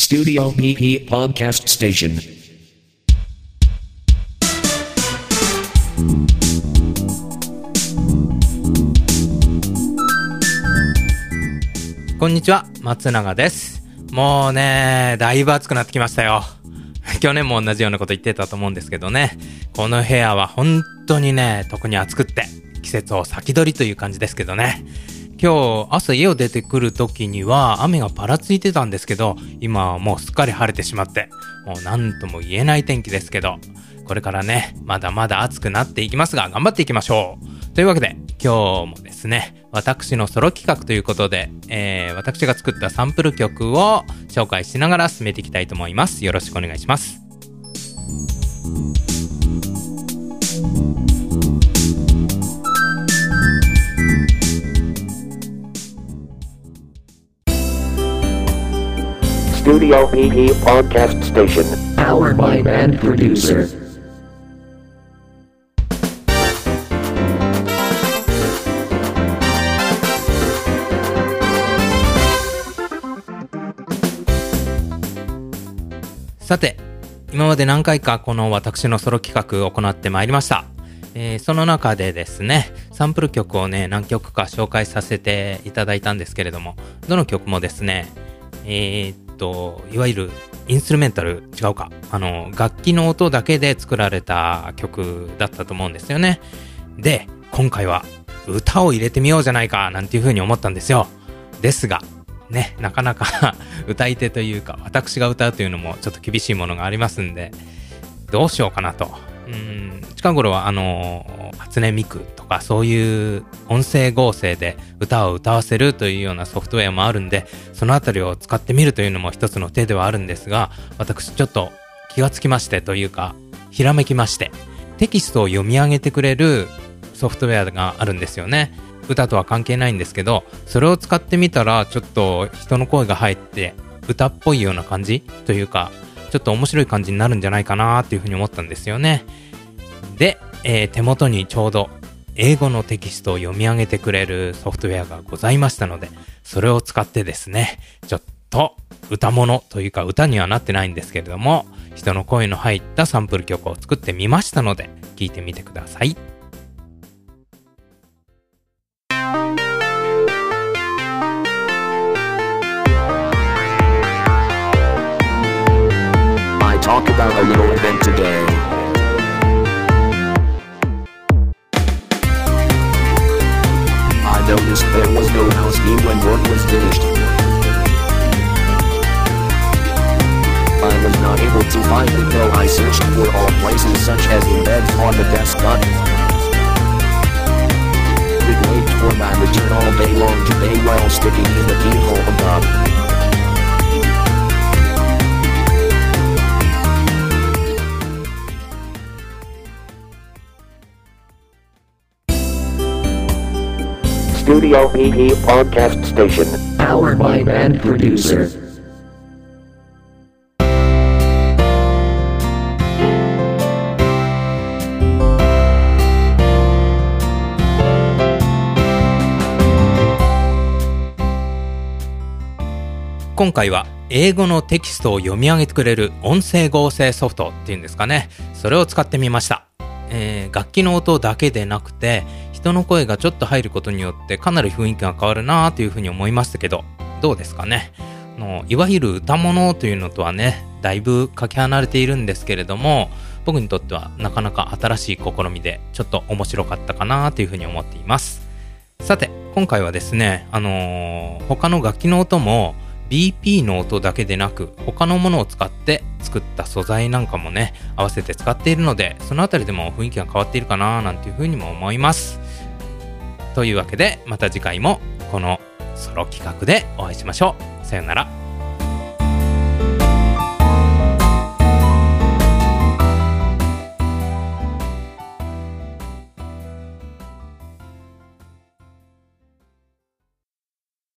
Studio PP Podcast Station. こんにちは、松永です。もうね、だいぶ暑くなってきましたよ。去年も同じようなこと言ってたと思うんですけどね、この部屋は本当にね、特に暑くって季節を先取りという感じですけどね。今日朝家を出てくる時には雨がぱらついてたんですけど、今はもうすっかり晴れてしまって、もう何とも言えない天気ですけど、これからね、まだまだ暑くなっていきますが、頑張っていきましょう。というわけで今日もですね、私のソロ企画ということで、私が作ったサンプル曲を紹介しながら進めていきたいと思います。よろしくお願いします。 Studio PP Podcast Station. Powered by Band Producer. さて、今まで何回かこの私のソロ企画を行ってまいりました。その中でですね、サンプル曲をね、何曲か紹介させていただいたんですけれども、どの曲もですね、いわゆるインストゥルメンタル、違うか、楽器の音だけで作られた曲だったと思うんですよね。で、今回は歌を入れてみようじゃないかなんていう風に思ったんですよ。ですがね、なかなか歌い手というか私が歌うというのもちょっと厳しいものがありますんで、どうしようかなと。近頃は初音ミクとかそういう音声合成で歌を歌わせるというようなソフトウェアもあるんで、そのあたりを使ってみるというのも一つの手ではあるんですが、私ちょっと気がつきましてというかひらめきまして、テキストを読み上げてくれるソフトウェアがあるんですよね。歌とは関係ないんですけど、それを使ってみたらちょっと人の声が入って歌っぽいような感じというか、ちょっと面白い感じになるんじゃないかなっていうふうに思ったんですよね。で、手元にちょうど英語のテキストを読み上げてくれるソフトウェアがございましたので、それを使ってですね、ちょっと歌物というか歌にはなってないんですけれども、人の声の入ったサンプル曲を作ってみましたので、聞いてみてください。 Talk about a little event today. I noticed there was no house key when work was finished. I was not able to find it though I searched for all places such as in beds on the desk but would wait for my return all day long to pay while sticking in the keyhole above.Studio PP Podcast Station. Powered by Band Producer. 今回は英語のテキストを読み上げてくれる音声合成ソフトっていうんですかね。それを使ってみました。楽器の音だけでなくて、人の声がちょっと入ることによってかなり雰囲気が変わるなというふうに思いましたけど、どうですかね。いわゆる歌物というのとはね、だいぶかけ離れているんですけれども、僕にとってはなかなか新しい試みでちょっと面白かったかなというふうに思っています。さて、今回はですね、他の楽器の音もBP の音だけでなく他のものを使って作った素材なんかもね、合わせて使っているので、そのあたりでも雰囲気が変わっているかななんていうふうにも思います。というわけで、また次回もこのソロ企画でお会いしましょう。さよなら。